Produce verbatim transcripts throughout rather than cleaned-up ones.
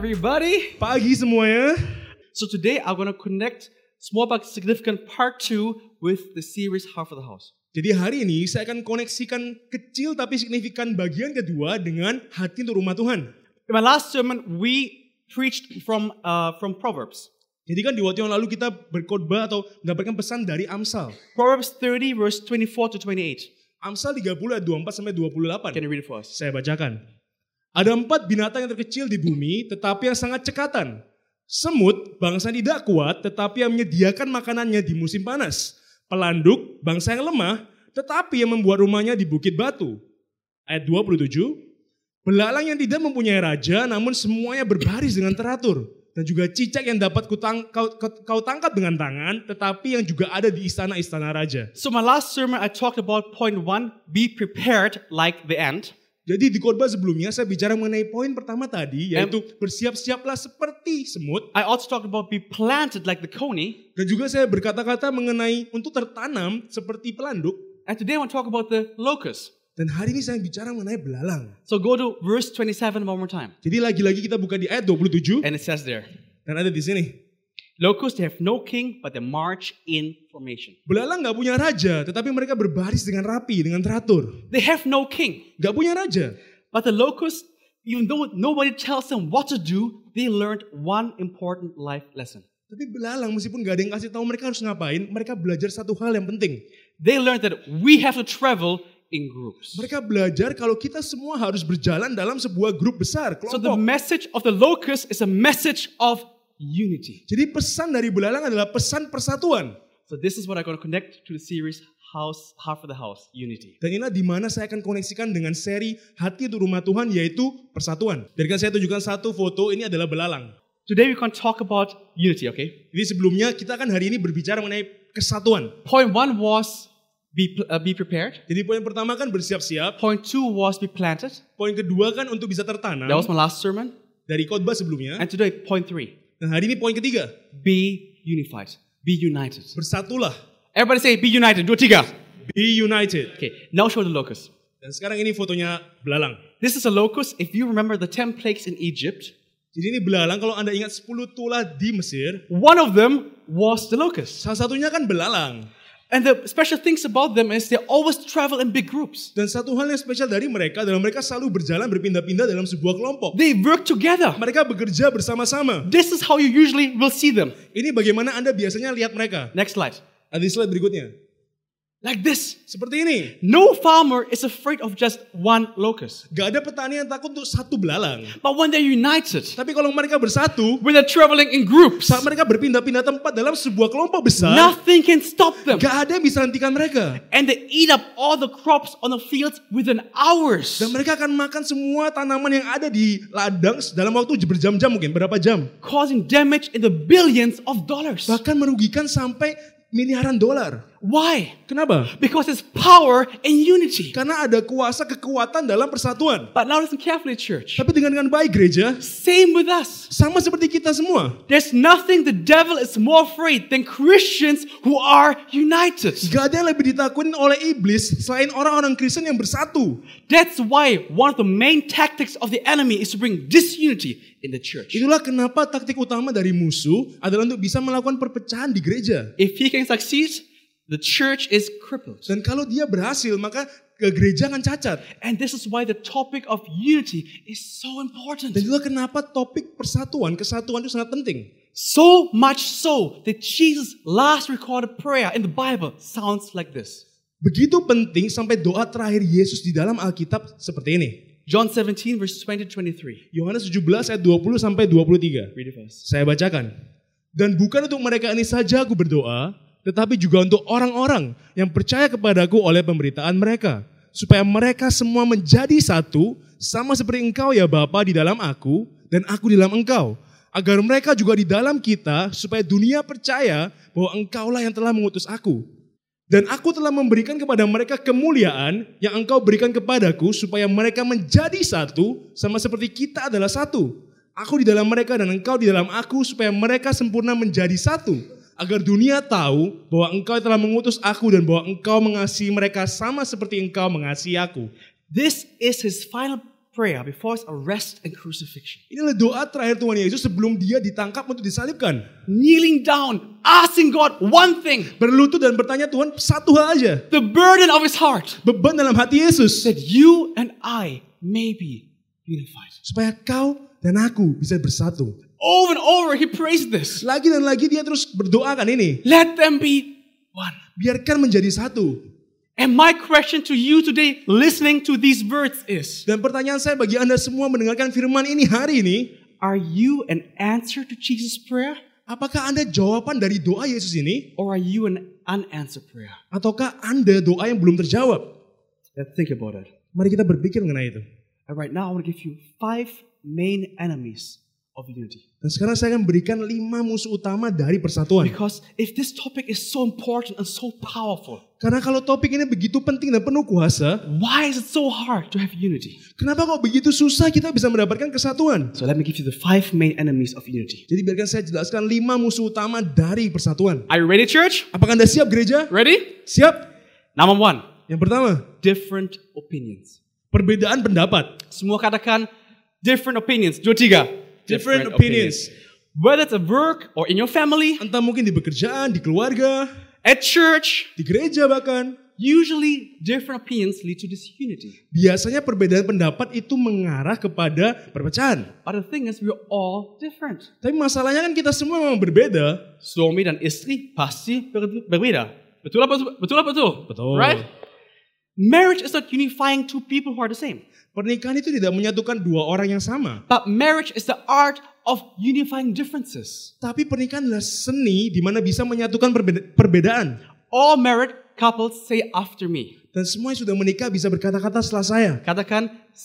everybody. Pagi semuanya. So today I'm going to connect small but significant part two with the series Heart for the House. Jadi hari ini saya akan koneksikan kecil tapi signifikan bagian kedua dengan hati untuk rumah Tuhan. In my last sermon, we preached from uh, from Proverbs. Jadi kan di waktu yang lalu kita berkhotbah atau mendapatkan pesan dari Amsal. Proverbs thirty verse twenty-four to twenty-eight. Amsal tiga puluh ayat dua puluh empat sampai dua puluh delapan. Can you read it for us? Saya bacakan. Ada empat binatang yang terkecil di bumi tetapi yang sangat cekatan. Semut, bangsa yang tidak kuat tetapi yang menyediakan makanannya di musim panas. Pelanduk, bangsa yang lemah tetapi yang membuat rumahnya di bukit batu. Ayat dua puluh tujuh. Belalang yang tidak mempunyai raja namun semuanya berbaris dengan teratur. Dan juga cicak yang dapat kutang, kau, kau, kau tangkap dengan tangan tetapi yang juga ada di istana-istana raja. So my last sermon I talked about point one, be prepared like the ant. Jadi di khotbah sebelumnya saya bicara mengenai poin pertama tadi yaitu bersiap-siaplah seperti semut. I also talked about be planted like the coney. Dan juga saya berkata-kata mengenai untuk tertanam seperti pelanduk. And today I want to talk about the locust. Dan hari ini saya bicara mengenai belalang. So go to verse twenty-seven one more time. Jadi lagi-lagi kita buka di ayat dua puluh tujuh. And it says there, Dan ada di sini. locusts, they have no king, but they march in formation. Belalang gak punya raja, tetapi mereka berbaris dengan rapi, dengan teratur. They have no king. Gak punya raja. But the locusts, even though nobody tells them what to do, they learned one important life lesson. Tapi belalang meskipun gak ada yang kasih tahu mereka harus ngapain, mereka belajar satu hal yang penting. They learned that we have to travel in groups. Mereka belajar kalau kita semua harus berjalan dalam sebuah grup besar, So the kelompok. message of the locust is a message of unity. Jadi pesan dari belalang adalah pesan persatuan. So this is what I'm going to connect to the series House, Heart for the House, Unity. Dan inilah di mana saya akan koneksikan dengan seri Hati untuk Rumah Tuhan yaitu persatuan. Jadi kan saya tunjukkan satu foto, ini adalah belalang. Today we can talk about unity, okay? Jadi sebelumnya kita akan hari ini berbicara mengenai kesatuan. Point one was be, uh, be prepared. Jadi poin pertama kan bersiap-siap. Point two was be planted. Poin kedua kan untuk bisa tertanam. That was my last sermon. Dari khotbah sebelumnya. And today, point three, Dan hari ini poin ketiga. be unified, be united. Bersatulah. Everybody say, be united. Dua, tiga. Be united. Okay, now show the locust. Dan sekarang ini fotonya belalang. This is a locust. If you remember the ten plagues in Egypt, Jadi ini belalang, kalau Anda ingat sepuluh tulah di Mesir, one of them was the locust. salah satunya kan belalang. And the special things about them is they always travel in big groups. Dan satu hal yang spesial dari mereka adalah mereka selalu berjalan berpindah-pindah dalam sebuah kelompok. They work together. Mereka bekerja bersama-sama. This is how you usually will see them. Ini bagaimana Anda biasanya lihat mereka. Next slide. Ada di slide berikutnya. Like this. Seperti ini. No farmer is afraid of just one locust. Gak ada petani yang takut untuk satu belalang. But when they're united, Tapi kalau mereka bersatu, when they're traveling in groups, saat mereka berpindah-pindah tempat dalam sebuah kelompok besar, nothing can stop them. gak ada yang bisa hentikan mereka. And they eat up all the crops on the fields within hours, Dan mereka akan makan semua tanaman yang ada di ladang dalam waktu berjam-jam mungkin, berapa jam. causing damage in the billions of dollars. Bahkan merugikan sampai miliaran dolar. Why? Kenapa? Because it's power and unity. Karena ada kuasa kekuatan dalam persatuan. But now listen carefully, church. Tapi dengan dengan baik gereja, Same with us. sama seperti kita semua. There's nothing the devil is more afraid than Christians who are united. Gak ada yang lebih ditakutin oleh iblis selain orang-orang Kristen yang bersatu. That's why one of the main tactics of the enemy is to bring disunity in the church. Itulah kenapa taktik utama dari musuh adalah untuk bisa melakukan perpecahan di gereja. If he can succeed, the church is crippled. Dan kalau dia berhasil, maka ke gereja akan cacat. And this is why the topic of unity is so important. Dan itulah kenapa topik persatuan, kesatuan itu sangat penting. So much so that Jesus' last recorded prayer in the Bible sounds like this. Begitu penting sampai doa terakhir Yesus di dalam Alkitab seperti ini. John seventeen verse twenty to twenty-three. Yohanes tujuh belas ayat dua puluh sampai dua puluh tiga. Read it for us. Saya bacakan. Dan bukan untuk mereka ini saja aku berdoa, tetapi juga untuk orang-orang yang percaya kepadaku oleh pemberitaan mereka. Supaya mereka semua menjadi satu, sama seperti engkau ya Bapa di dalam aku, dan aku di dalam engkau. Agar mereka juga di dalam kita, supaya dunia percaya bahwa engkaulah yang telah mengutus aku. Dan aku telah memberikan kepada mereka kemuliaan yang engkau berikan kepadaku, supaya mereka menjadi satu, sama seperti kita adalah satu. Aku di dalam mereka dan engkau di dalam aku, supaya mereka sempurna menjadi satu. Agar dunia tahu bahwa engkau telah mengutus aku dan bahwa engkau mengasihi mereka sama seperti engkau mengasihi aku. This is his final prayer before his arrest and crucifixion. Inilah doa terakhir Tuhan Yesus sebelum dia ditangkap untuk disalibkan. Kneeling down, asking God one thing. Berlutut dan bertanya Tuhan satu hal aja. The burden of his heart. Beban dalam hati Yesus. That you and I may be unified. Supaya kau dan aku bisa bersatu. Over and over he prays this. Lagi dan lagi dia terus berdoakan ini. Let them be one. Biarkan menjadi satu. And my question to you today, listening to these words is, Dan pertanyaan saya bagi Anda semua mendengarkan firman ini hari ini, are you an answer to Jesus' prayer? apakah Anda jawaban dari doa Yesus ini? Or are you an unanswered prayer? Ataukah Anda doa yang belum terjawab? Let's think about it. Mari kita berpikir mengenai itu. And right now I want to give you five main enemies of unity. Dan sekarang saya akan berikan lima musuh utama dari persatuan. Because if this topic is so important and so powerful, Karena kalau topik ini begitu penting dan penuh kuasa, why is it so hard to have unity? kenapa kok begitu susah kita bisa mendapatkan kesatuan? So let me give you the five main enemies of unity. Jadi biarkan saya jelaskan lima musuh utama dari persatuan. Are you ready, church? Apakah Anda siap gereja? Ready? Siap? Number one, Yang pertama, different opinions. perbedaan pendapat. Semua katakan different opinions. Dua, tiga. Different opinions. Whether it's at work or in your family, Entah mungkin di pekerjaan, di keluarga, at church, di gereja bahkan. usually different opinions lead to disunity. Biasanya perbedaan pendapat itu mengarah kepada perpecahan. But the thing is, we're all different. Tapi masalahnya kan kita semua memang berbeda. Suami dan istri pasti ber- berbeda. Betul apa betul? Apa betul? Betul. Right? Marriage is not unifying two people who are the same. Pernikahan itu tidak menyatukan dua orang yang sama. But marriage is the art of unifying differences. Tapi pernikahan adalah seni di mana bisa menyatukan perbeda- perbedaan. All married couples say after me. Dan semua yang sudah menikah bisa berkata-kata setelah saya. Katakan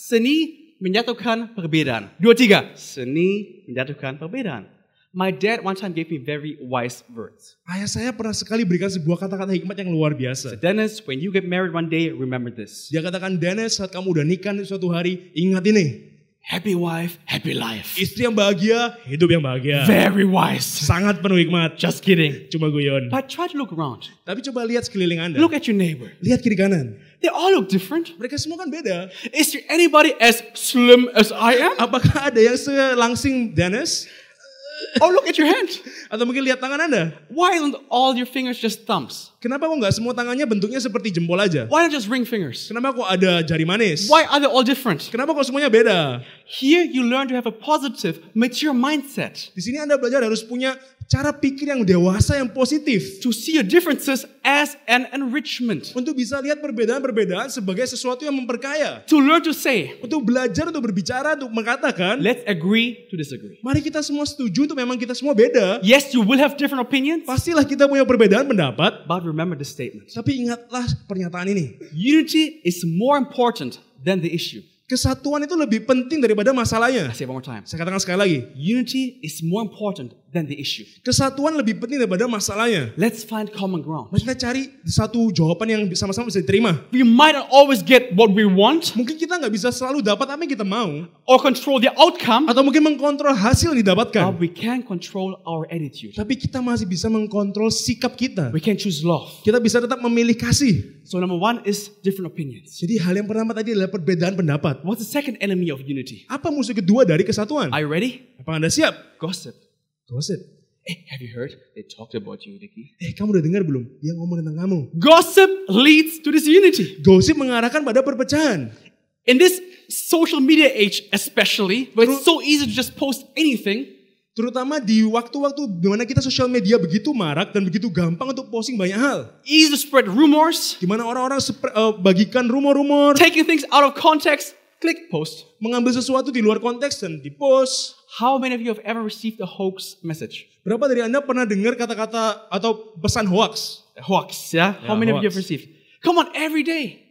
seni menyatukan perbedaan. Dua tiga. Seni menyatukan perbedaan. My dad one time gave me very wise words. Ayah saya pernah sekali berikan sebuah kata-kata hikmat yang luar So biasa. Dennis, when you get married one day, remember this. Dia katakan, Dennis, saat kamu udah nikah suatu hari, ingat ini. Happy wife, happy life. Istri yang bahagia, hidup yang bahagia. Very wise. Sangat penuh hikmat. Just kidding. Cuma guyon. But try to look around. Tapi coba lihat sekeliling Anda. Look at your neighbor. Lihat kiri kanan. They all look different. Mereka semua kan beda. Is there anybody as slim as I am? Apakah ada yang selangsing Dennis? Oh, look at your hand. Atau mungkin lihat tangan Anda. Why aren't all your fingers just thumbs? Kenapa kok nggak semua tangannya bentuknya seperti jempol aja? Why not just ring fingers? Kenapa kok ada jari manis? Why are they all different? Kenapa kok semuanya beda? Here you learn to have a positive, mature mindset. Di sini Anda belajar harus punya cara pikir yang dewasa, yang positif. To see your differences as an enrichment. Untuk bisa lihat perbedaan-perbedaan sebagai sesuatu yang memperkaya. To learn to say, Untuk belajar, untuk berbicara, untuk mengatakan, let's agree to disagree. mari kita semua setuju untuk memang kita semua beda. Yes, you will have different opinions, Pastilah kita punya perbedaan pendapat. but remember this statement. Tapi ingatlah pernyataan ini. Unity is more important than the issue. Kesatuan itu lebih penting daripada masalahnya. I say it one more time. Saya katakan sekali lagi. Unity is more important than the issue. Kesatuan lebih penting daripada masalahnya. Let's find common ground. Mari kita cari satu jawaban yang sama-sama bisa diterima. We might not always get what we want Mungkin kita nggak bisa selalu dapat apa yang kita mau. or control the outcome, Atau mungkin mengkontrol hasil yang but didapatkan. we can control our attitude. Tapi kita masih bisa mengkontrol sikap kita. We can choose love. Kita bisa tetap memilih kasih. So number one is different opinions. Jadi hal yang pertama tadi adalah perbedaan pendapat. What's the second enemy of unity? Apa musuh kedua dari kesatuan? Are you ready? Apa Anda siap? Gossip. Gosip. Hey, have you heard? They talked about you, Nicky. Eh, kamu udah dengar belum? Dia ngomong tentang kamu. Gossip leads to disunity. Gosip mengarahkan pada perpecahan. In this social media age especially, where it's so easy to just post anything, Terutama di waktu-waktu di mana kita sosial media begitu marak dan begitu gampang untuk posting banyak hal. easy to spread rumors, Di mana orang-orang sepre- eh, bagikan rumor-rumor, taking things out of context, click post. mengambil sesuatu di luar konteks dan di-post. How many of you have ever received a hoax message? Berapa dari Anda pernah dengar kata-kata atau pesan hoax? A hoax, yeah? How Yeah, many of you hoax. have received? Come on, every day.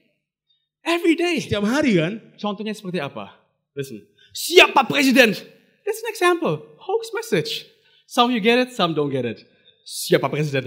Every day. Setiap hari kan? Contohnya seperti apa? Listen. Siapa presiden? That's an example. Hoax message. Some of you get it, some don't get it. Siapa presiden?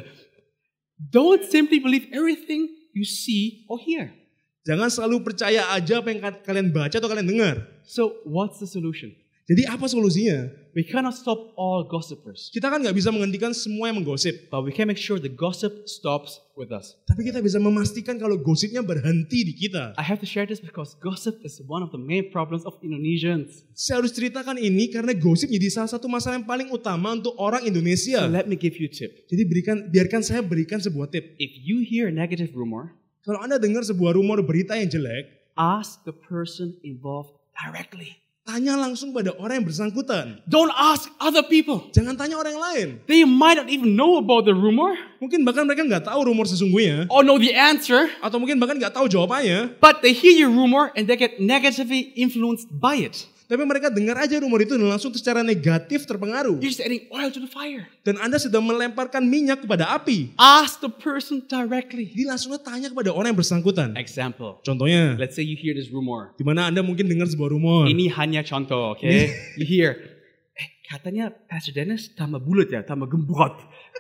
Don't simply believe everything you see or hear. Jangan selalu percaya aja apa yang ka- kalian baca atau kalian dengar. So, what's the solution? Jadi apa solusinya? We cannot stop all gossipers, Kita kan nggak bisa menghentikan semua yang menggosip. but we can make sure the gossip stops with us. Tapi kita bisa memastikan kalau gosipnya berhenti di kita. I have to share this because gossip is one of the main problems of Indonesians. Saya harus ceritakan ini karena gosip jadi salah satu masalah yang paling utama untuk orang So Indonesia. let me give you a tip. Jadi berikan, biarkan saya berikan sebuah tip. If you hear a negative rumor, Kalau Anda dengar sebuah rumor berita yang jelek, ask the person involved directly. tanya langsung pada orang yang bersangkutan. Don't ask other people. Jangan tanya orang yang lain. They might not even know about the rumor Mungkin bahkan mereka nggak tahu rumor sesungguhnya. or know the answer, Atau mungkin bahkan nggak tahu jawabannya. but they hear your rumor and they get negatively influenced by it. Tapi mereka dengar aja rumor itu dan langsung secara negatif terpengaruh. You're just adding oil to the fire. Dan Anda sedang melemparkan minyak kepada api. Ask the person directly. Jadi langsung tanya kepada orang yang bersangkutan. Example. Contohnya, Let's say you hear this rumor. di mana Anda mungkin dengar sebuah rumor. Ini hanya contoh, oke? You hear, eh katanya Pastor Dennis tambah bulat ya, tambah gembrot.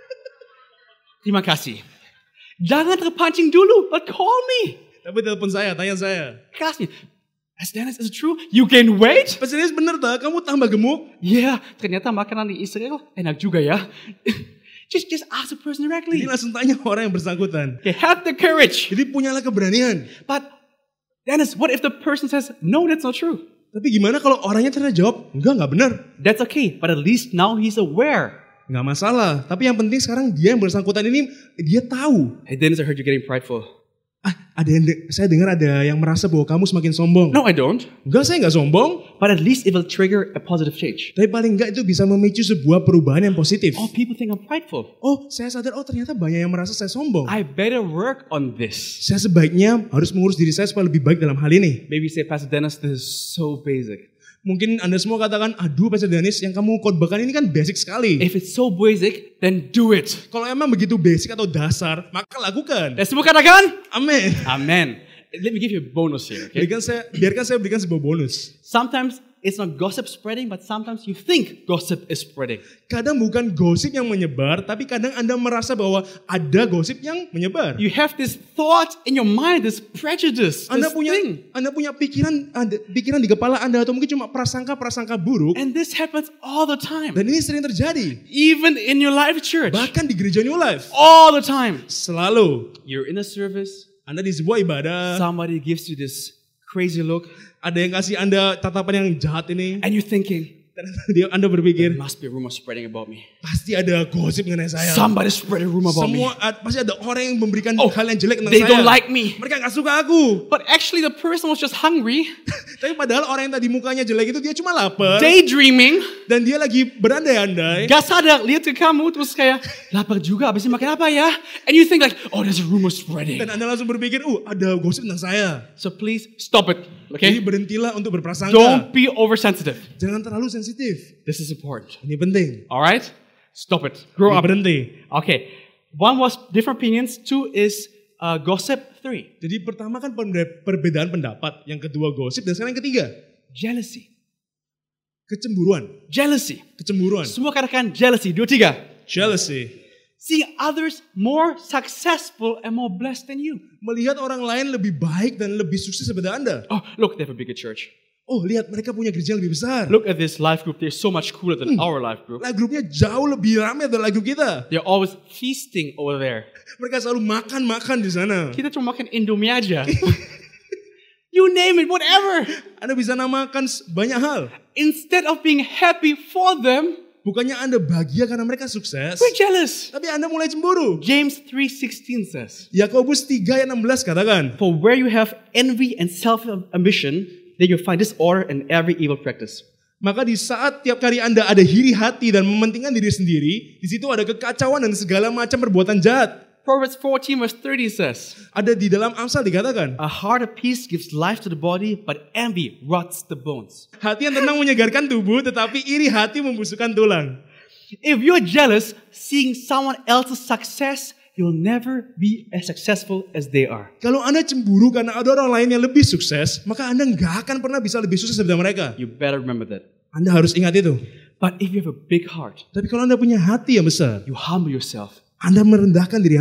Terima kasih. Jangan terpancing dulu, but call me. Tapi telepon saya, tanya saya. Ask me, Pastor Dennis, is it true? You gain weight? Pastor Dennis bener tak? Kamu tambah gemuk? Yeah, ternyata makanan di Israel enak juga ya. just just ask the person directly. Jadi langsung tanya orang yang bersangkutan. Okay, have the courage. Jadi punyalah keberanian. But Dennis, what if the person says, no, that's not true? Tapi gimana kalau orangnya ternyata jawab, enggak, enggak benar. That's okay, but at least now he's aware. Enggak masalah. Tapi yang penting sekarang dia yang bersangkutan ini, dia tahu. Hey Dennis, I heard you're getting prideful. Ah, ada yang de- saya dengar ada yang merasa bahwa kamu semakin sombong. No, I don't. Enggak, saya enggak sombong. But at least it will trigger a positive change. Tapi paling enggak itu bisa memicu sebuah perubahan yang positif. Oh, people think I'm prideful. Oh, saya sadar, oh ternyata banyak yang merasa saya sombong. I better work on this. Saya sebaiknya harus mengurus diri saya supaya lebih baik dalam hal ini. Maybe say, Pastor Dennis, this is so basic. Mungkin Anda semua katakan, aduh Pastor Dennis, yang kamu khotbahkan ini kan basic sekali. If it's so basic, then do it. Kalau emang begitu basic atau dasar, maka lakukan. Let's semua katakan? Amin. Amen. Let me give you a bonus here, okay? Berikan saya, biarkan saya berikan sebuah bonus. Sometimes it's not gossip spreading, but sometimes you think gossip is spreading. Kadang bukan gosip yang menyebar, tapi kadang Anda merasa bahwa ada gosip yang menyebar. You have this thought in your mind, this prejudice, Anda this punya thing. Anda punya pikiran ada, pikiran di kepala Anda atau mungkin cuma prasangka-prasangka buruk. And this happens all the time. Dan ini sering terjadi. Even in your life church. Bahkan di gereja New Life. All the time. Selalu. You're in a service. Anda di sebuah ibadah. Somebody gives you this crazy look. Ada yang kasih Anda tatapan yang jahat ini. And you're thinking, Dan dia Anda there berpikir, must be a rumor spreading about me. pasti ada gosip mengenai saya. Somebody spread a rumor about me. Semua ad- pasti ada orang yang memberikan Oh, hal yang jelek tentang they saya. don't like me. Mereka gak suka aku. But actually the person was just hungry, Tapi padahal orang yang tadi mukanya jelek itu dia cuma lapar. daydreaming, Dan dia lagi berandai-andai. gak sadar, lihat ke kamu, terus kayak, lapar juga, abis ini makan apa ya? And you think like, oh there's a rumor spreading. Dan Anda langsung berpikir, uh ada gosip tentang saya. So please stop it, Jadi okay? berhentilah untuk berprasangka. Don't be oversensitive. Jangan terlalu sensitif. This is important. Ini penting. Alright? Stop it. Grow Ini up. berhenti. Okay. One was different opinions. Two is uh, gossip. Three, Jadi pertama kan pembe- perbedaan pendapat. Yang kedua gosip. Dan sekarang yang ketiga. jealousy. Kecemburuan. Jealousy. Kecemburuan. Semua katakan jealousy. Dua, tiga. Jealousy. Seeing others more successful and more blessed than you. Melihat orang lain lebih baik dan lebih sukses daripada Anda. Oh, look, they have a bigger church. Oh lihat mereka punya gereja yang lebih besar. Look at this life group. They're so much cooler than our life group. Lah grupnya jauh lebih ramai dari grup kita. They're always feasting over there. Mereka selalu makan-makan di sana. Kita cuma makan Indomie aja. You name it, whatever. Anda bisa namakan s- banyak hal. Instead of being happy for them, Bukannya Anda bahagia karena mereka sukses. we're jealous. Tapi Anda mulai cemburu. James three sixteen says, Yakobus tiga ayat enam belas katakan. for where you have envy and self-ambition, then you find disorder and every evil practice. Maka di saat tiap kali Anda ada iri hati dan mementingkan diri sendiri, di situ ada kekacauan dan segala macam perbuatan jahat. Proverbs fourteen verse thirty says, Ada di dalam Amsal dikatakan, a heart of peace gives life to the body, but envy rots the bones. hati yang tenang menyegarkan tubuh, tetapi iri hati membusukkan tulang. If you're jealous, seeing someone else's success, you'll never be as successful as they are. Kalau Anda cemburu karena ada orang lain yang lebih sukses, maka Anda nggak akan pernah bisa lebih sukses daripada mereka. You better remember that. Anda harus ingat itu. But if you have a big heart, Tapi kalau Anda punya hati yang besar, you humble yourself, Anda merendahkan diri Anda.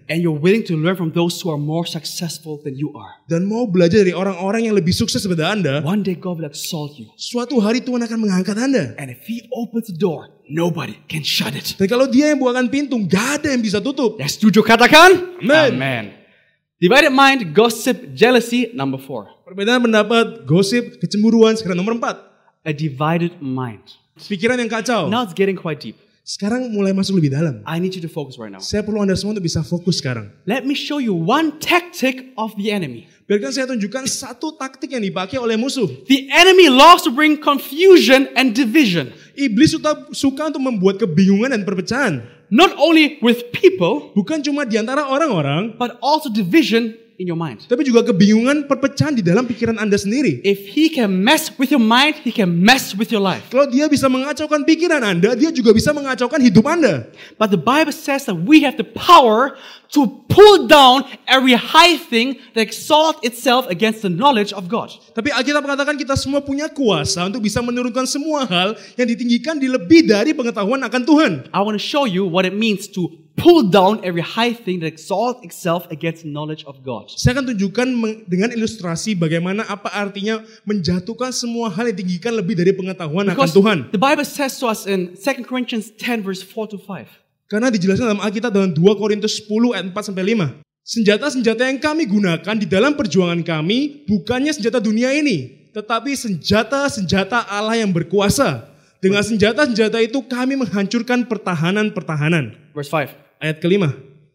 And you're willing to learn from those who are more successful than you are. Dan mau belajar dari orang-orang yang lebih sukses daripada Anda, One day God will exalt you. suatu hari Tuhan akan mengangkat Anda. And if He opens the door, nobody can shut it. Dan kalau Dia yang bukakan pintu, gak ada yang bisa tutup. Yang setuju katakan? Amen. Amen. Divided mind, gossip, jealousy, number four. Perbedaan pendapat, gosip, kecemburuan, sekarang nomor empat. A divided mind. Pikiran yang kacau. Now it's getting quite deep. Sekarang mulai masuk lebih dalam. I need you to focus right now. Saya perlu Anda semua untuk bisa fokus sekarang. Let me show you one tactic of the enemy. Biarkan saya tunjukkan satu taktik yang dipakai oleh musuh. The enemy loves to bring confusion and division. Iblis suka, suka untuk membuat kebingungan dan perpecahan. Not only with people, Bukan cuma di antara orang-orang, but also division in your mind. tapi juga kebingungan, perpecahan di dalam pikiran Anda sendiri. If he can mess with your mind, he can mess with your life. Kalau dia bisa mengacaukan pikiran Anda, dia juga bisa mengacaukan hidup Anda. But the Bible says that we have the power to pull down every high thing that exalts itself against the knowledge of God. Tapi Alkitab mengatakan kita semua punya kuasa untuk bisa menurunkan semua hal yang ditinggikan di lebih dari pengetahuan akan Tuhan. I want to show you what it means to pull down every high thing that exalts itself against the knowledge of God. Saya akan tunjukkan dengan ilustrasi bagaimana apa artinya menjatuhkan semua hal yang ditinggikan lebih dari pengetahuan akan Because Tuhan. the Bible says to us in Second Corinthians ten verse four to five. Karena dijelaskan dalam Alkitab dalam dua Korintus sepuluh ayat empat sampai lima. Senjata-senjata yang kami gunakan di dalam perjuangan kami bukannya senjata dunia ini, tetapi senjata-senjata Allah yang berkuasa. Dengan senjata-senjata itu kami menghancurkan pertahanan-pertahanan. Verse five. Ayat kelima.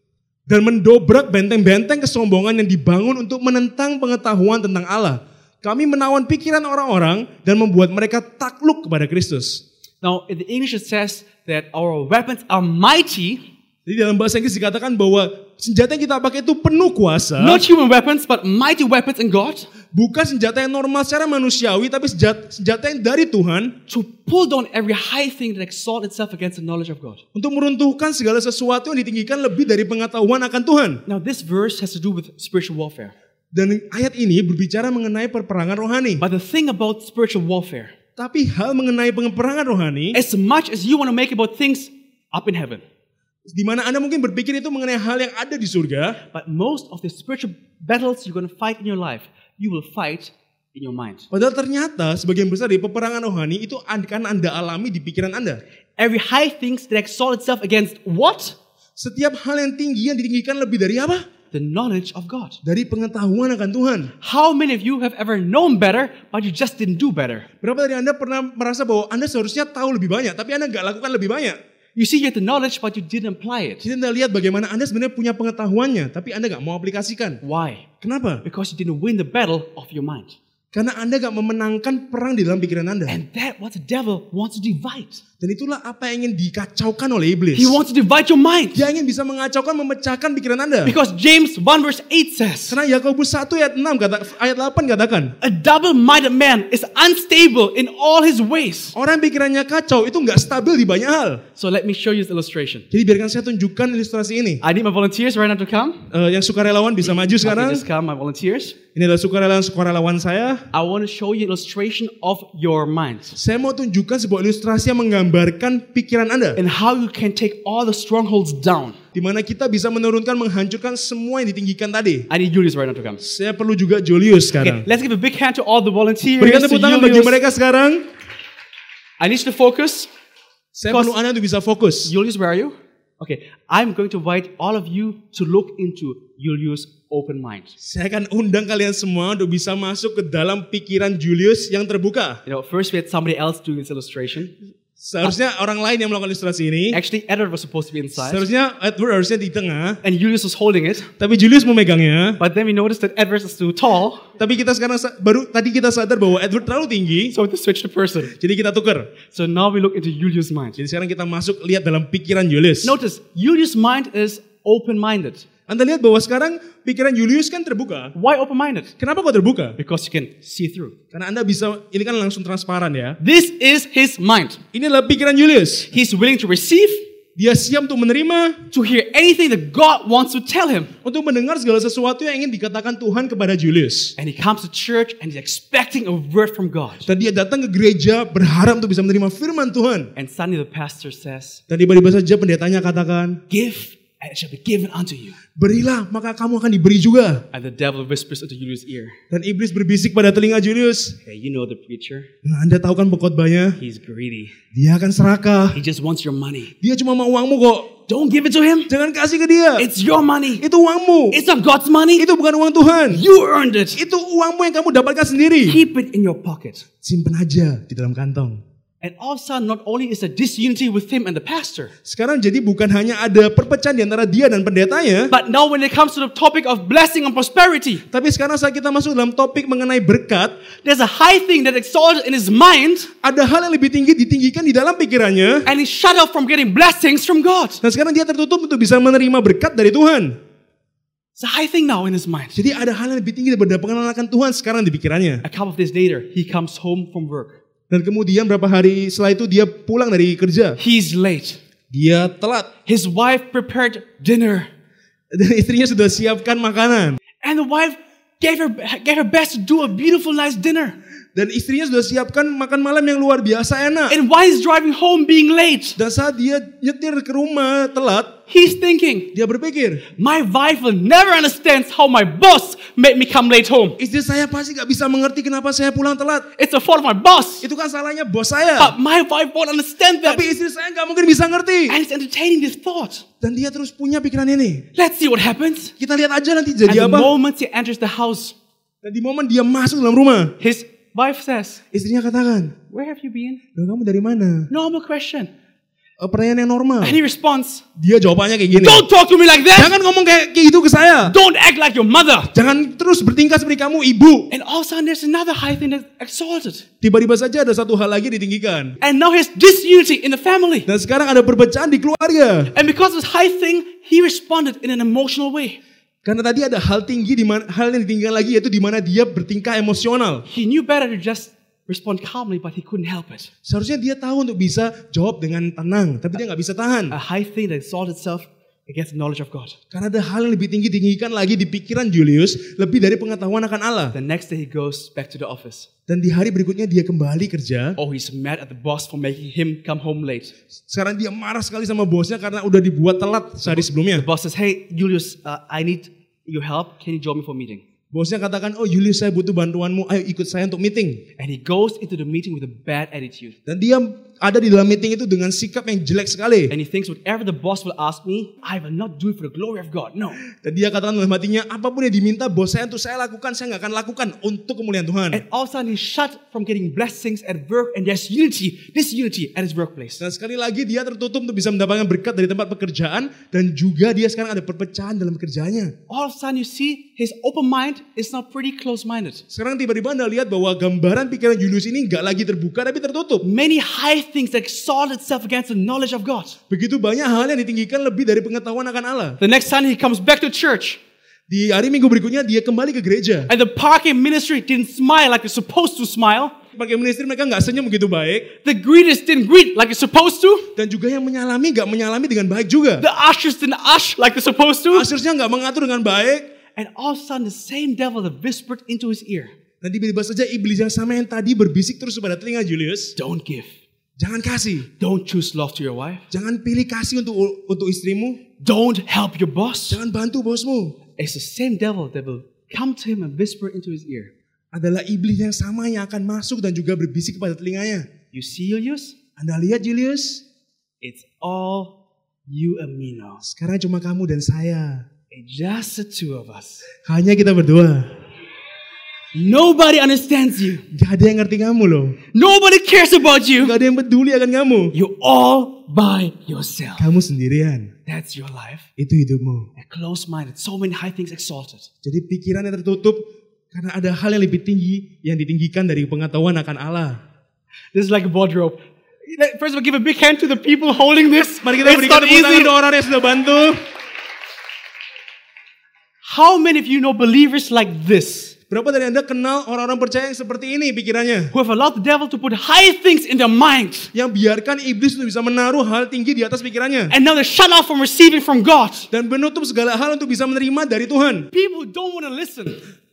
Dan mendobrak benteng-benteng kesombongan yang dibangun untuk menentang pengetahuan tentang Allah. Kami menawan pikiran orang-orang dan membuat mereka takluk kepada Kristus. Now, in the English it says that our weapons are mighty, Jadi dalam bahasa Inggris dikatakan bahwa senjata yang kita pakai itu penuh kuasa. not human weapons, but mighty weapons in God, Bukan senjata yang normal secara manusiawi, tapi senjata, senjata yang dari Tuhan to pull down every high thing that exalts itself against the knowledge of God. untuk meruntuhkan segala sesuatu yang ditinggikan lebih dari pengetahuan akan Tuhan. Now, this verse has to do with spiritual warfare. Dan ayat ini berbicara mengenai perperangan rohani. But the thing about spiritual warfare, Tapi hal mengenai peperangan rohani, as much as you want to make about things up in heaven, di mana Anda mungkin berpikir itu mengenai hal yang ada di surga, but most of the spiritual battles you're going to fight in your life, you will fight in your mind. padahal ternyata sebagian besar dari peperangan rohani itu akan Anda alami di pikiran Anda. Every high things that exalt itself against what? Setiap hal yang tinggi yang ditinggikan lebih dari apa? The knowledge of God. Dari pengetahuan akan Tuhan. How many of you have ever known better, but you just didn't do better? Berapa dari Anda pernah merasa bahwa Anda seharusnya tahu lebih banyak, tapi Anda nggak lakukan lebih banyak? You see, you had the knowledge, but you didn't apply it. Jadi Anda lihat bagaimana Anda sebenarnya punya pengetahuannya, tapi Anda nggak mau aplikasikan. Why? Kenapa? Because you didn't win the battle of your mind. Karena Anda nggak memenangkan perang di dalam pikiran Anda. And that what the devil wants to divide. Dan itulah apa yang ingin dikacaukan oleh iblis. He wants to divide your mind. Dia ingin bisa mengacaukan, memecahkan pikiran Anda. Because James one verse eight says, Karena Yakobus satu ayat enam kata, ayat delapan katakan, a double-minded man is unstable in all his ways. orang yang pikirannya kacau itu nggak stabil di banyak hal. So let me show you this illustration. Jadi biarkan saya tunjukkan ilustrasi ini. I need my volunteers right now to come. Eh, yang sukarelawan bisa maju Okay, sekarang. just come, my volunteers. Ini adalah sukarelawan-sukarelawan saya. I want to show you illustration of your mind Saya mau tunjukkan sebuah ilustrasi yang menggambarkan pikiran Anda. and how you can take all the strongholds down. Di mana kita bisa menurunkan, menghancurkan semua yang ditinggikan tadi. I need Julius right now to come. Saya perlu juga Julius Okay, sekarang. let's give a big hand to all the volunteers. Berikan to tepuk tangan bagi Julius. mereka sekarang. I need you to focus. Saya perlu Anda untuk bisa fokus. Julius, where are you? Okay, I'm going to invite all of you to look into Julius' open mind. Saya akan undang kalian semua untuk bisa masuk ke dalam pikiran Julius yang terbuka. You know, first we had somebody else doing this illustration. Seharusnya orang lain yang melakukan ilustrasi ini. Actually, Edward was supposed to be inside, Seharusnya Edward harusnya di tengah, and Julius was holding it. tapi Julius memegangnya. But then we noticed that Edward is too tall, Tapi kita sekarang sa- baru tadi kita sadar bahwa Edward terlalu tinggi, so we had to switch the person. jadi kita tukar. So now we look into Julius' mind. Jadi sekarang kita masuk lihat dalam pikiran Julius. Notice, Julius' mind is open-minded. Anda lihat bahwa sekarang pikiran Julius kan terbuka. Why open-minded? Kenapa kok terbuka? Because you can see through. Karena Anda bisa, ini kan langsung transparan ya. This is his mind. Ini adalah pikiran Julius. He's willing to receive, Dia siap untuk menerima, to hear anything that God wants to tell him. untuk mendengar segala sesuatu yang ingin dikatakan Tuhan kepada Julius. And he comes to church and he's expecting a word from God. Dan dia datang ke gereja berharap untuk bisa menerima firman Tuhan. And suddenly the pastor says, Dan tiba-tiba saja pendetanya katakan, give and it shall be given unto you. Berilah, maka kamu akan diberi juga. And the devil whispers into Julius' ear. Dan iblis berbisik pada telinga Julius. Hey, you know the preacher? Nah, Anda tahu kan pengkhotbahnya? He's greedy. Dia akan serakah. He just wants your money. Dia cuma mau uangmu kok. Don't give it to him. Jangan kasih ke dia. It's your money. Itu uangmu. It's not God's money. Itu bukan uang Tuhan. You earned it. Itu uangmu yang kamu dapatkan sendiri. Keep it in your pocket. Simpan aja di dalam kantong. And all of a sudden, not only is there disunity with him and the pastor, Sekarang jadi bukan hanya ada perpecahan di antara dia dan pendetanya, but now when it comes to the topic of blessing and prosperity, tapi sekarang saat kita masuk dalam topik mengenai berkat, there's a high thing that exalted in his mind, ada hal yang lebih tinggi ditinggikan di dalam pikirannya, and he's shut off from getting blessings from God. dan sekarang dia tertutup untuk bisa menerima berkat dari Tuhan. It's a high thing now in his mind. Jadi ada hal yang lebih tinggi daripada pengenalan akan Tuhan sekarang di pikirannya. A couple of days later, he comes home from work. Dan kemudian berapa hari setelah itu dia pulang dari kerja. He's late. Dia telat. His wife prepared dinner. Dan istrinya sudah siapkan makanan. And the wife gave her, gave her best to do a beautiful, nice dinner. Dan istrinya sudah siapkan makan malam yang luar biasa enak. And while he's driving home being late, Dan saat dia nyetir ke rumah telat, he's thinking, dia berpikir, my wife will never understand how my boss made me come late home. istri saya pasti gak bisa mengerti kenapa saya pulang telat. It's the fault of my boss. Itu kan salahnya bos saya. But my wife won't understand that. Tapi istri saya gak mungkin bisa ngerti. And he's entertaining this thought. Dan dia terus punya pikiran ini. Let's see what happens. Kita lihat aja nanti And jadi the apa. moment he enters the house, Dan di momen dia masuk dalam rumah, his wife says, istrinya katakan, where have you been? "Loh, kamu dari mana?" Normal question. E, pertanyaan yang normal. And he responds, Dia jawabannya kayak gini. don't talk to me like that. Jangan ngomong kayak kayak gitu ke saya. Don't act like your mother. Jangan terus bertingkah seperti kamu ibu. And all of a sudden there's another high thing that's exalted. Tiba-tiba saja ada satu hal lagi ditinggikan. And now there's disunity in the family. Dan sekarang ada perpecahan di keluarga. And because of this high thing, he responded in an emotional way. Karena tadi ada hal tinggi di mana hal yang ditinggikan lagi yaitu di mana dia bertingkah emosional. He knew better to just respond calmly, but he couldn't help it. Seharusnya dia tahu untuk bisa jawab dengan tenang, tapi dia nggak bisa tahan. A high thing that exalted itself against the knowledge of God. Karena ada hal yang lebih tinggi tinggikan lagi di pikiran Julius, lebih dari pengetahuan akan Allah. The next day he goes back to the office. Dan di hari berikutnya dia kembali kerja. Oh, he's mad at the boss for making him come home late. Sekarang dia marah sekali sama bosnya karena udah dibuat telat sehari sebelumnya. The boss says, hey, Julius, uh, I need your help. Can you join me for a meeting? Bosnya katakan, oh Julius saya butuh bantuanmu, ayo ikut saya untuk meeting. And he goes into the meeting with a bad attitude. Dan dia ada di dalam meeting itu dengan sikap yang jelek sekali. And he thinks whatever the boss will ask me, I will not do it for the glory of God. No. Dan dia katakan dalam hatinya, apapun yang diminta bos saya untuk saya lakukan, saya nggak akan lakukan untuk kemuliaan Tuhan. And all of a sudden he's shut from getting blessings at work, and there's unity, this unity at his workplace. Dan sekali lagi dia tertutup untuk bisa mendapatkan berkat dari tempat pekerjaan. Dan juga dia sekarang ada perpecahan dalam kerjaannya. All of a sudden you see his open mind is now pretty close-minded. Sekarang tiba-tiba Anda lihat bahwa gambaran pikiran Julius ini nggak lagi terbuka tapi tertutup. Many high things that exalt itself against the knowledge of God. Begitu banyak hal yang ditinggikan lebih dari pengetahuan akan Allah. The next Sunday he comes back to church. Di hari Minggu berikutnya dia kembali ke gereja. And the parking ministry didn't smile like they're supposed to smile. Pakai ministry mereka nggak senyum begitu baik. The greeters didn't greet like they're supposed to. Dan juga yang menyalami nggak menyalami dengan baik juga. The ushers didn't ush like they're supposed to. Ushersnya nggak mengatur dengan baik. And all of a sudden the same devil that whispered into his ear. Dan tiba-tiba saja iblis yang sama yang tadi berbisik terus kepada telinga Julius. Don't give. Jangan kasih. Don't choose love to your wife. Jangan pilih kasih untuk untuk istrimu. Don't help your boss. Jangan bantu bosmu. It's the same devil that will come to him and whisper into his ear. Adalah iblis yang sama yang akan masuk dan juga berbisik kepada telinganya. You see, Julius? Anda lihat Julius? It's all you and me now. Sekarang cuma kamu dan saya. It's just the two of us. Hanya kita berdua. Nobody understands you. Gak ada yang ngerti kamu loh. Nobody cares about you. Gak ada yang peduli akan kamu. You all by yourself. Kamu sendirian. That's your life. Itu hidupmu. A close-minded, so many high things exalted. Jadi pikiran yang tertutup karena ada hal yang lebih tinggi yang ditinggikan dari pengetahuan akan Allah. This is like a wardrobe. First of all, give a big hand to the people holding this. Mari kita berikan tepuk tangan untuk orang yang sudah bantu. How many of you know believers like this? Berapa dari Anda kenal orang-orang percaya yang seperti ini pikirannya? Who have allowed the devil to put high things in their mind. Yang biarkan iblis itu bisa menaruh hal tinggi di atas pikirannya. And now they're shut off from receiving from God. Dan menutup segala hal untuk bisa menerima dari Tuhan. People who don't want to listen.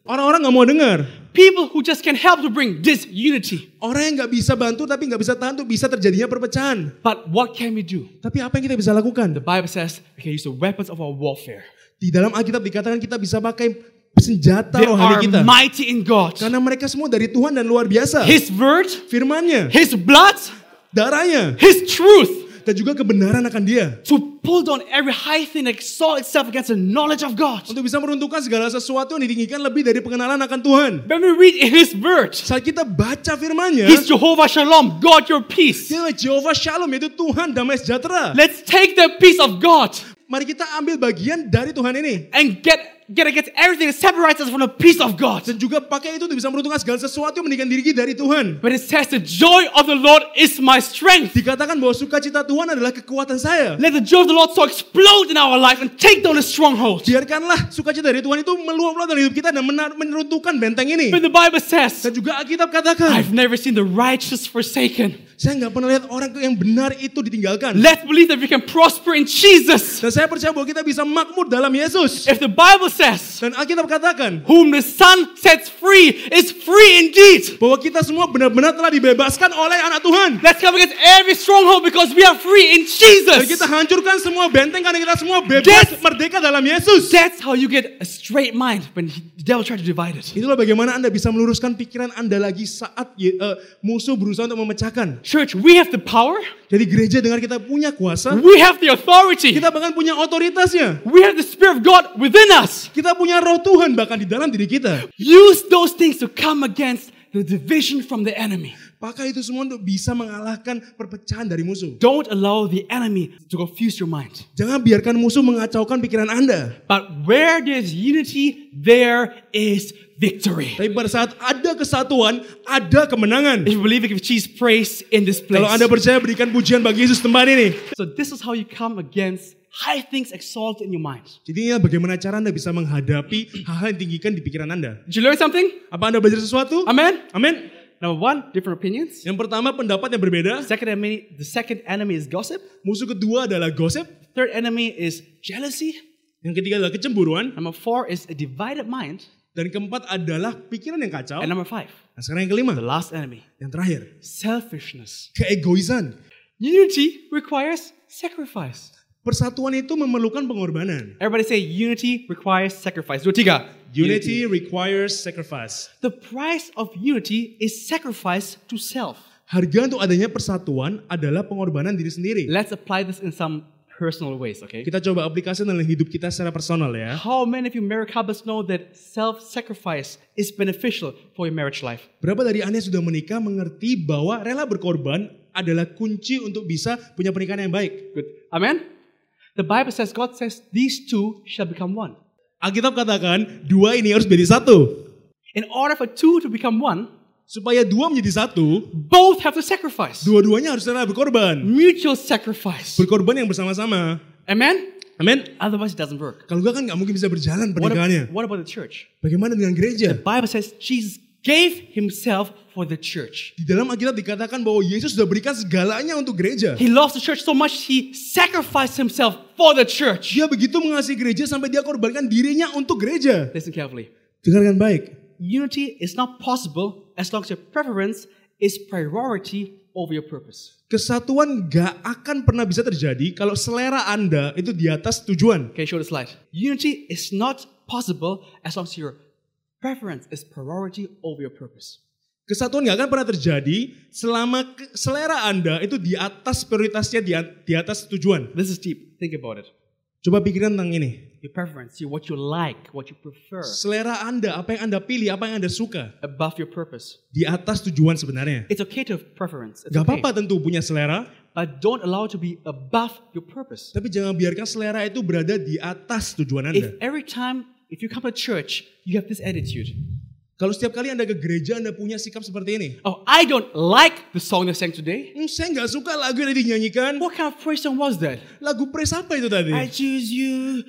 Orang-orang gak mau dengar. People who just can help to bring disunity. Orang yang gak bisa bantu tapi gak bisa tahan tuh bisa terjadinya perpecahan. But what can we do? Tapi apa yang kita bisa lakukan? The Bible says we can use the weapons of our warfare. Di dalam Alkitab dikatakan kita bisa pakai senjata They rohani are kita. mighty in God. Karena mereka semua dari Tuhan dan luar biasa. His word, Firman-Nya, His blood, darahnya, His truth. dan juga kebenaran akan Dia. To pull down every high thing that exalts itself against the knowledge of God. Untuk bisa meruntuhkan segala sesuatu yang ditinggikan lebih dari pengenalan akan Tuhan. When we read in His word, Saat kita baca firman-Nya, He's Jehovah Shalom, God your peace. Dia adalah Jehovah Shalom, yaitu Tuhan damai sejahtera. Let's take the peace of God Mari kita ambil bagian dari Tuhan ini. and get get against everything that separates us from the peace of God. Dan juga pakai itu untuk bisa meruntuhkan segala sesuatu yang meninggalkan diri kita dari Tuhan. But it says the joy of the Lord is my strength. Dikatakan bahwa sukacita Tuhan adalah kekuatan saya. Let the joy of the Lord so explode in our life and take down the stronghold. Biarkanlah sukacita dari Tuhan itu meluap-luap dalam hidup kita dan menar- menurunkan benteng ini. But the Bible says, Dan juga Alkitab katakan, I've never seen the righteous forsaken. saya nggak pernah lihat orang yang benar itu ditinggalkan. Let's believe that we can prosper in Jesus. Dan saya percaya bahwa kita bisa makmur dalam Yesus. If the Bible says, Dan Alkitab katakan whom the Son sets free is free indeed. bahwa kita semua benar-benar telah dibebaskan oleh anak Tuhan. Let's come against every stronghold because we are free in Dan kita Jesus. hancurkan semua benteng karena kita semua bebas That's- merdeka dalam Yesus. That's how you get a straight mind when the devil tries to divide it. Itulah bagaimana Anda bisa meluruskan pikiran Anda lagi saat uh, musuh berusaha untuk memecahkan. Church, we have the power. Jadi gereja dengar kita punya kuasa, We have the authority. kita bahkan punya otoritasnya. We have the Spirit of God within us. Kita punya roh Tuhan bahkan di dalam diri kita. Use those things to come against the division from the enemy. Pakai itu semua untuk bisa mengalahkan perpecahan dari musuh. Don't allow the enemy to confuse your mind. Jangan biarkan musuh mengacaukan pikiran Anda. But where there's unity, there is victory. Tapi pada saat ada kesatuan, ada kemenangan. If you believe it, give Jesus praise in this place. Kalau Anda percaya, berikan pujian bagi Yesus tempat ini. So this is how you come against high things exalted in your mind. Jadi inilah bagaimana cara Anda bisa menghadapi hal-hal yang tinggikan di pikiran Anda. Did you learn something? Apa Anda belajar sesuatu? Amen. Amin. Number one, different opinions. Yang pertama, pendapat yang berbeda. Second enemy, the second enemy is gossip. Musuh kedua adalah gosip. Third enemy is jealousy. Yang ketiga adalah kecemburuan. Number four is a divided mind. Dan keempat adalah pikiran yang kacau. And number five, Nah sekarang yang kelima, the last enemy, yang terakhir, selfishness. keegoisan. Unity requires sacrifice. Persatuan itu memerlukan pengorbanan. Everybody say unity requires sacrifice. Dua tiga. Unity requires sacrifice. The price of unity is sacrifice to self. Harga untuk adanya persatuan adalah pengorbanan diri sendiri. Let's apply this in some personal ways, okay? Kita coba aplikasi dalam hidup kita secara personal ya. How many of you married couples know that self-sacrifice is beneficial for your marriage life? Berapa dari Anda yang sudah menikah mengerti bahwa rela berkorban adalah kunci untuk bisa punya pernikahan yang baik? Good. Amen? The Bible says, God says, these two shall become one. Alkitab katakan dua ini harus menjadi satu. In order for two to become one, Supaya dua menjadi satu, both have to sacrifice. dua-duanya harus rela berkorban. Mutual sacrifice. Berkorban yang bersama-sama. Amen? Amin. Otherwise it doesn't work. Kalau enggak kan nggak mungkin bisa berjalan What, pernikahannya. what about the church? Bagaimana dengan gereja? The Bible says Jesus gave himself for the church. Di dalam Alkitab dikatakan bahwa Yesus sudah berikan segalanya untuk gereja. He loves the church so much he sacrificed himself for the church. Dia begitu mengasihi gereja sampai dia korbankan dirinya untuk gereja. Listen carefully. Dengarkan baik. Unity is not possible as long as your preference is priority over your purpose. Kesatuan gak akan pernah bisa terjadi kalau selera Anda itu di atas tujuan. Okay, show the slide. Unity is not possible as long as your preference is priority over your purpose. Kesatuan gak akan pernah terjadi selama ke- selera Anda itu di atas prioritasnya di, a- di atas tujuan. This is deep. Think about it. Coba pikiran tentang ini. Your preference, you, what you like, what you prefer, Selera Anda, apa yang Anda pilih, apa yang Anda suka. above your purpose. Di atas tujuan sebenarnya. It's okay to have preference. It's Gak okay. apa-apa tentu punya selera. But don't allow it to be above your purpose. Tapi jangan biarkan selera itu berada di atas tujuan Anda. If every time, if you come to church, you have this attitude. Kalau setiap kali Anda ke gereja, Anda punya sikap seperti ini. Oh, I don't like the song they sang today. Hmm, saya nggak suka lagu yang dinyanyikan. What kind of praise song was that? Lagu praise apa itu tadi? I choose you.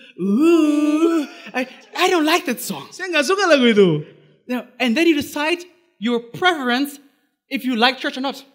Ooh. I, I don't like that song. Saya nggak suka lagu itu. Now, and then you decide your preference if you like church or not.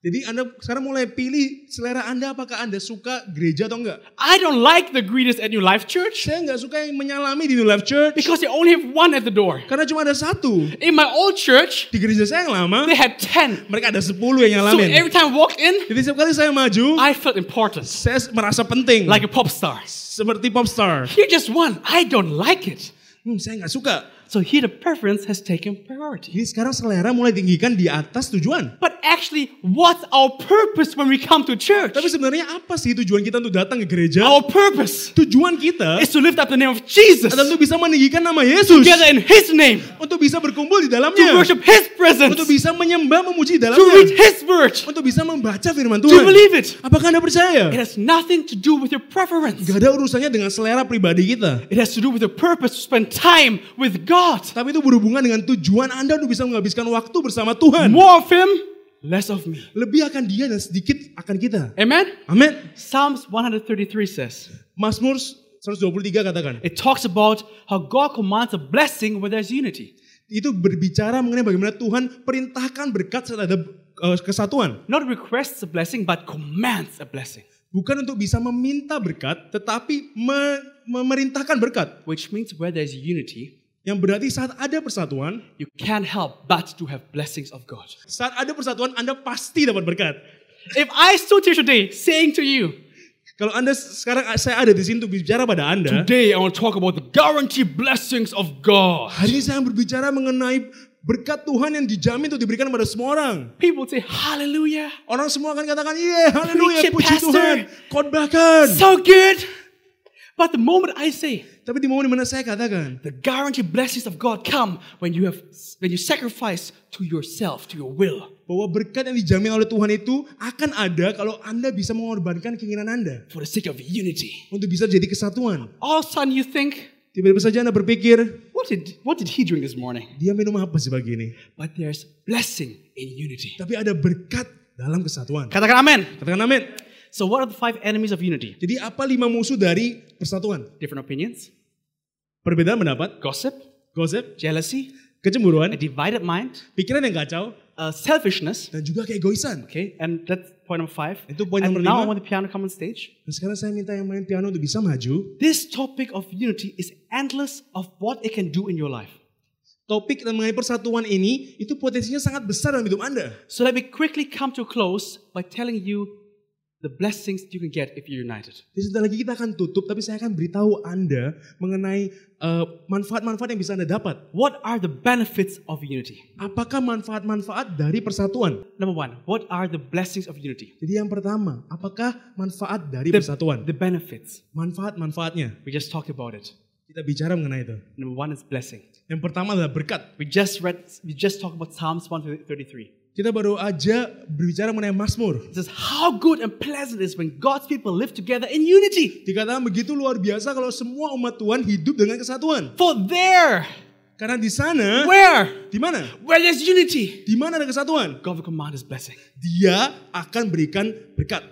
Jadi Anda sekarang mulai pilih selera Anda, apakah Anda suka gereja atau enggak. I don't like the greeters at New Life Church Saya enggak suka yang menyalami di New Life Church. because they only have one at the door. Karena cuma ada satu. In my old church, Di gereja saya yang lama, they had ten. mereka ada sepuluh yang So nyalamin. every time I walked in, Jadi setiap kali saya maju, I felt important, saya merasa penting. like a pop star. Seperti pop star. Here just one, I don't like it. Hmm, saya enggak suka. So here the preference has taken priority. Jadi sekarang selera mulai tinggikan di atas tujuan. But actually, what's our purpose when we come to church? Tapi sebenarnya apa sih tujuan kita untuk datang ke gereja? Our purpose Tujuan kita is to lift up the name of Jesus, adalah untuk bisa meninggikan nama Yesus. together in His name, Untuk bisa berkumpul di to dalamnya. worship His presence, Untuk bisa menyembah, memuji di to read dalamnya. His word, Untuk bisa membaca firman to Tuhan. believe it. Apakah Anda percaya? It has nothing to do with your preference. Gak ada urusannya dengan selera pribadi kita. It has to do with the purpose to spend time with God. Tapi itu berhubungan dengan tujuan Anda untuk bisa menghabiskan waktu bersama Tuhan. More of Him, less of me. Lebih akan dia dan sedikit akan kita. Amen? Amin. Psalms one thirty-three says, Mazmur seratus dua puluh tiga katakan. it talks about how God commands a blessing where there's unity. Itu berbicara mengenai bagaimana Tuhan perintahkan berkat saat ada uh, kesatuan. Not requests a blessing, but commands a blessing. Bukan untuk bisa meminta berkat, tetapi me- memerintahkan berkat. Which means where there's unity, Yang berarti saat ada persatuan, you can't help but to have blessings of God. saat ada persatuan Anda pasti dapat berkat. If I stood here today saying to you, Kalau Anda sekarang saya ada di sini untuk bicara pada Anda, today I want to talk about the guaranteed blessings of God. hari ini saya berbicara mengenai berkat Tuhan yang dijamin untuk diberikan kepada semua orang. People say, hallelujah, Orang semua akan katakan, iya, haleluya, Preach it, puji Pastor. Tuhan, khotbahkan. so good. But the moment I say, Tapi di momen dimana saya katakan, the guaranteed blessings of God come when you have when you sacrifice to yourself, to your will, bahwa berkat yang dijamin oleh Tuhan itu akan ada kalau Anda bisa mengorbankan keinginan Anda for the sake of unity. untuk bisa jadi kesatuan. All of a sudden you think, Tiba-tiba saja Anda berpikir, what did what did he drink this morning? dia minum apa sih pagi ini? But there's blessing in unity. Tapi ada berkat dalam kesatuan. Katakan amen. Katakan amin. So what are the five enemies of unity? Jadi apa lima musuh dari persatuan? Different opinions, Perbedaan pendapat, gossip, gosip, jealousy, kecemburuan, a divided mind, pikiran yang kacau, uh, selfishness. dan juga keegoisan. Okay, and that's point number five. Itu poin And nomor now I lima. want the piano come on stage. Dan sekarang saya minta yang main piano untuk bisa maju. This topic of unity is endless of what it can do in your life. Topik mengenai persatuan ini, itu potensinya sangat besar dalam hidup Anda. So let me quickly come to a close by telling you the blessings you can get if you're united. Jadi sebentar lagi kita akan tutup, tapi saya akan beritahu Anda mengenai uh, manfaat-manfaat yang bisa Anda dapat. What are the benefits of unity? Apakah manfaat-manfaat dari persatuan? Number one, what are the blessings of unity? Jadi yang pertama, apakah manfaat dari The, persatuan? the benefits. Manfaat-manfaatnya. We just talked about it. Kita bicara mengenai itu. Number one is blessing. Yang pertama adalah berkat. We just read, we just talked about Psalms one thirty-three. Kita baru aja berbicara mengenai Mazmur. It says how good and pleasant it is when God's people live together in unity. Dikatakan begitu luar biasa kalau semua umat Tuhan hidup dengan kesatuan. For there, Karena di sana, where, di mana? where there's unity, Di mana ada kesatuan? God will command His blessing. Dia akan berikan berkat.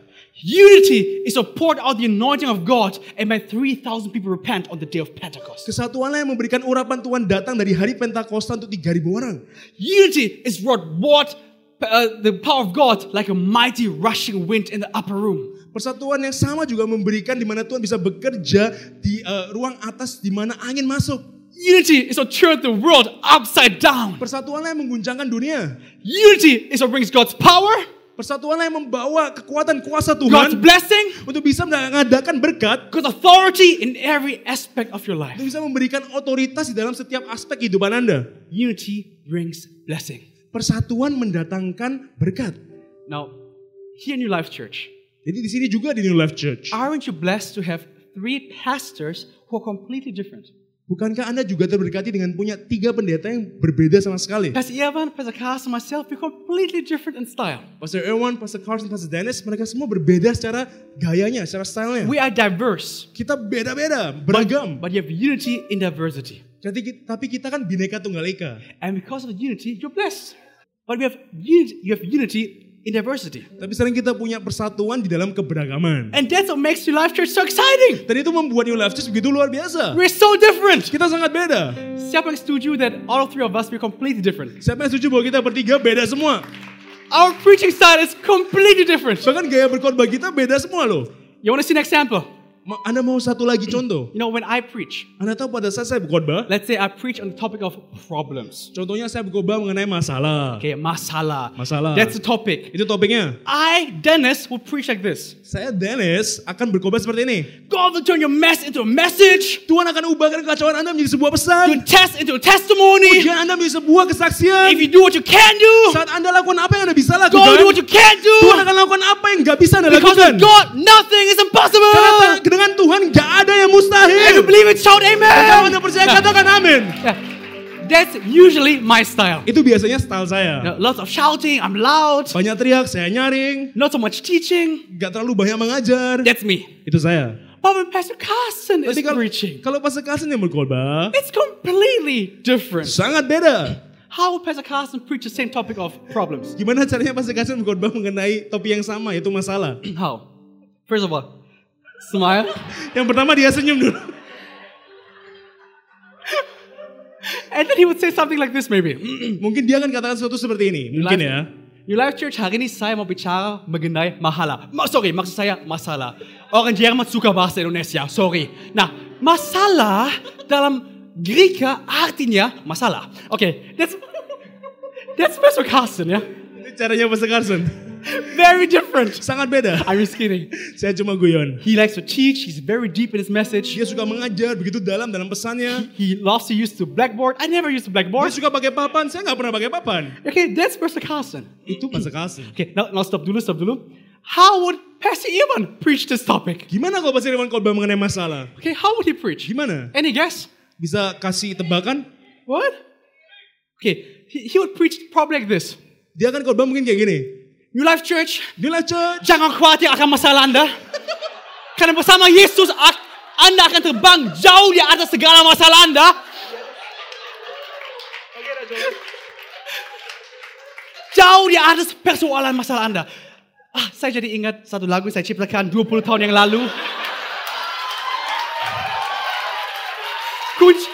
Unity is to pour out the anointing of God and make three thousand people repent on the day of Pentecost. Kesatuanlah yang memberikan urapan Tuhan datang dari hari Pentakosta untuk tiga ribu orang. Unity is what brought uh, the power of God like a mighty rushing wind in the upper room. Persatuan yang sama juga memberikan di mana Tuhan bisa bekerja di uh, ruang atas di mana angin masuk. Unity is what turns the world upside down. Persatuanlah yang mengguncangkan dunia. Unity is what brings God's power, Persatuanlah yang membawa kekuatan kuasa God's Tuhan blessing, untuk bisa mengadakan berkat, God's authority in every aspect of your life. untuk bisa memberikan otoritas di dalam setiap aspek kehidupan Anda. Unity brings blessing. Persatuan mendatangkan berkat. Now, here in New Life Church, Jadi di sini juga di New Life Church. aren't you blessed to have three pastors who are completely different? Bukankah Anda juga terberkati dengan punya tiga pendeta yang berbeda sama sekali? Pastor Evan, Pastor Carson, myself, we're completely different in style. Pastor Erwan, Pastor Carson, Pastor Dennis, mereka semua berbeda secara gayanya, secara stylenya. We are diverse, Kita beda-beda, beragam. but you have unity in diversity. Jadi, tapi kita kan bineka tunggal ika. And because of the unity, you're blessed. But we have unity, you have unity in diversity. Tapi sering kita punya persatuan di dalam keberagaman. And that's what makes New Life Church so exciting. Dan itu membuat New Life Church begitu luar biasa. We're so different. Kita sangat beda. Siapa yang setuju that all three of us we're completely different? Siapa yang setuju bahwa kita bertiga beda semua? Our preaching style is completely different. Bahkan gaya berkhotbah kita beda semua loh. You want to see an example? Ma- Anda mau satu lagi contoh? You know, when I preach, Anda tahu pada saat saya berkhotbah, let's say I preach on the topic of problems. contohnya saya berkhotbah mengenai masalah. Okay, masalah. Masalah. That's the topic. Itu topiknya. I, Dennis, will preach like this. Saya Dennis akan berkhotbah seperti ini. God will turn your mess into a message. Tuhan akan ubahkan kekacauan Anda menjadi sebuah Your pesan. test into a testimony. Ujian Anda menjadi sebuah kesaksian. If you do what you can do, Saat Anda lakukan apa yang Anda bisa God will do lakukan, what you can't Tuhan do. akan lakukan apa yang nggak bisa Anda Because lakukan. with God, nothing is Karena impossible. dengan Tuhan nggak ada yang If you mustahil. believe it, shout Kalau amen. Anda percaya, katakan amin. Yeah. That's usually my style. Itu biasanya style saya. You know, lots of shouting, I'm loud, Banyak teriak, saya nyaring, not so much teaching. nggak terlalu banyak mengajar. That's me. Itu saya. But when Pastor Carson is Tapi kalau preaching, kalau Pastor Carson yang berkhotbah, it's completely different. sangat beda. How will Pastor Carson preach the same topic of problems? Gimana caranya Pastor Carson berkhotbah mengenai topik yang sama, yaitu masalah? How? First of all, smile. Yang pertama dia senyum dulu. And then he would say something like this maybe. Mungkin dia akan katakan sesuatu seperti ini. Mungkin ya. New Life Church, hari ini saya mau bicara mengenai masalah. Ma- sorry, maksud saya masalah. Orang Jerman suka bahasa Indonesia, sorry. Nah, masalah dalam Greka artinya masalah. Okay, that's that's Pastor Carson, ya. Itu caranya Pastor Carson. Very different. Sangat beda. I'm just kidding. Saya cuma guyon. He likes to teach. He's very deep in his message. Dia suka mengajar begitu dalam dalam pesannya. He loves to use the blackboard. I never use the Dia blackboard. suka pakai papan. Saya nggak pernah pakai papan. Okay, that's Pastor Carson. Itu Pastor Carson. Okay, now, now stop dulu, stop dulu. How would Pastor Ivan preach this topic? Gimana kalau Pastor Iwan khotbah mengenai masalah? Okay, how would he preach? Gimana? Any guess? Bisa kasih tebakan? What? Okay, he, he would preach probably like this. Dia akan khotbah mungkin kayak gini. New Life Church, New Life Church, jangan khawatir akan masalah Anda. Karena bersama Yesus, ak- Anda akan terbang jauh di atas segala masalah Anda. Jauh di atas persoalan masalah Anda. Ah, saya jadi ingat satu lagu saya ciptakan dua puluh tahun yang lalu. Kunci.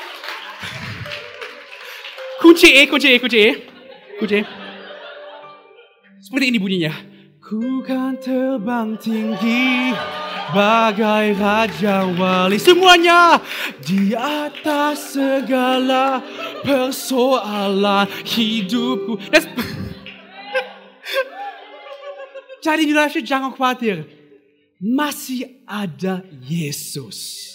Kunci E, kunci E, kunci E. Kunci E. Seperti ini bunyinya. Ku kan terbang tinggi bagai raja wali. Semuanya di atas segala persoalan hidupku. That's... Jadi New Life Church, jangan khawatir. Masih ada Yesus.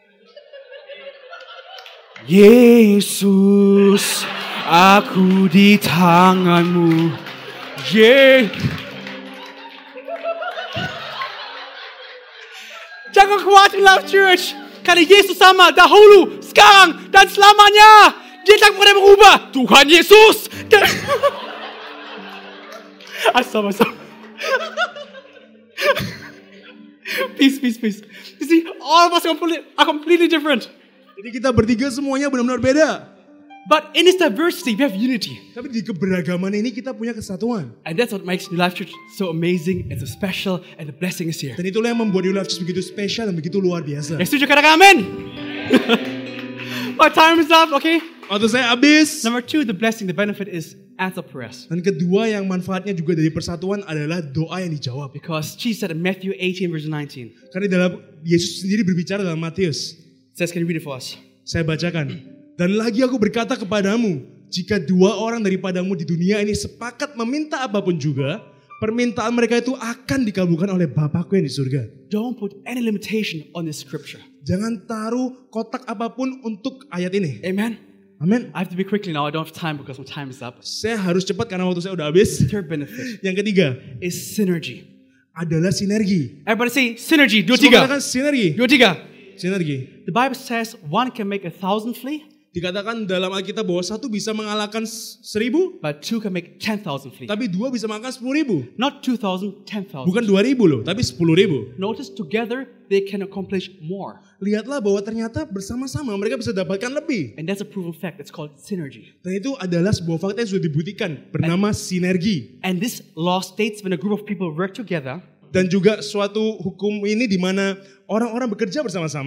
Yesus, aku di tanganmu. Yeah. Jangan khawatir Life Church. Karena Yesus sama dahulu, sekarang, dan selamanya. Dia tak pernah berubah. Tuhan Yesus. Asal, asal. Peace, peace, peace. You see, all of us are completely, are completely different. Jadi kita bertiga semuanya benar-benar beda. But in this diversity, we have unity. Tapi di keberagaman ini kita punya kesatuan. And that's what makes New Life Church so amazing and so special, and the blessing is here. Dan itulah yang membuat New Life Church begitu spesial dan begitu luar biasa. Yang setuju katakan amin. My time is up, okay? Waktu saya habis. Number two, the blessing, the benefit is answer prayers. Dan kedua yang manfaatnya juga dari persatuan adalah doa yang dijawab. Because Jesus said in Matthew eighteen verse nineteen. Karena dalam Yesus sendiri berbicara dalam Matius. It says, can you read it for us? Saya bacakan. Dan lagi aku berkata kepadamu, jika dua orang daripadamu di dunia ini sepakat meminta apapun juga, permintaan mereka itu akan dikabulkan oleh Bapakku yang di surga. Don't put any limitation on this scripture. Jangan taruh kotak apapun untuk ayat ini. Amen. Amin. I have to be quickly now. I don't have time because my time is up. Saya harus cepat karena waktu saya udah habis. Third benefit Yang ketiga is synergy. adalah sinergi. Everybody say synergy. Dua Semua tiga. katakan sinergi. Dua tiga. Sinergi. The Bible says one can make a thousand flee, Dikatakan dalam Alkitab bahwa satu bisa mengalahkan seribu, but two can make ten thousand flee. tapi dua bisa mengalahkan sepuluh ribu. Not two thousand, ten thousand. Bukan dua ribu loh, tapi sepuluh ribu. Notice together they can accomplish more. Lihatlah bahwa ternyata bersama-sama mereka bisa dapatkan lebih. And that's a proven fact. It's called synergy. Dan itu adalah sebuah fakta yang sudah dibuktikan bernama sinergi. And this law states when a group of people work together, Dan juga suatu hukum ini di mana orang-orang bekerja bersama-sama,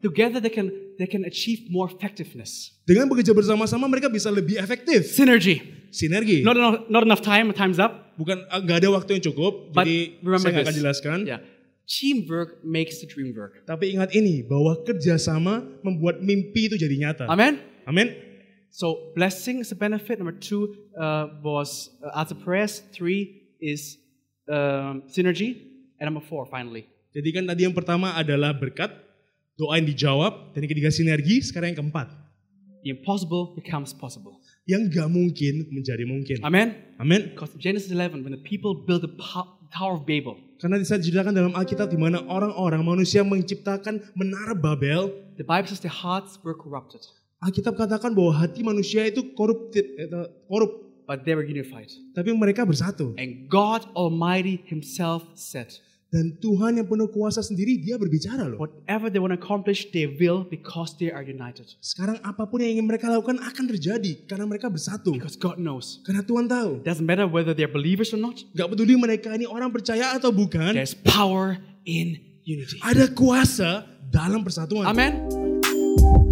together they can they can achieve more effectiveness. Dengan bekerja bersama-sama mereka bisa lebih efektif. Synergy. Sinergi. Not enough, not enough time. Time's up. Bukan nggak ada waktu yang cukup, But jadi remember saya nggak akan this. jelaskan. Yeah. Teamwork makes the dream work. Tapi ingat ini, bahwa kerjasama membuat mimpi itu jadi nyata. Amen. Amin. So blessing is a benefit. Number two uh, was uh, answer prayers. Three is um, synergy. And number four, finally. Jadi kan tadi yang pertama adalah berkat, doa yang dijawab, dan yang ketiga sinergi, sekarang yang keempat. The impossible becomes possible. Yang gak mungkin menjadi mungkin. Amen. Amin. Because Genesis eleven, when the people built the Tower of Babel, Karena bisa diceritakan dalam Alkitab di mana orang-orang manusia menciptakan menara Babel. the Bible says their hearts were corrupted, Alkitab katakan bahwa hati manusia itu korup, korup, but they were unified. tapi mereka bersatu. And God Almighty Himself said, Dan Tuhan yang penuh kuasa sendiri dia berbicara loh. whatever they want to accomplish, they will because they are united. Sekarang apapun yang ingin mereka lakukan akan terjadi karena mereka bersatu. Because God knows. Karena Tuhan tahu. Doesn't matter whether they're believers or not. Gak peduli mereka ini orang percaya atau bukan. There's power in unity. Ada kuasa dalam persatuan. Amen.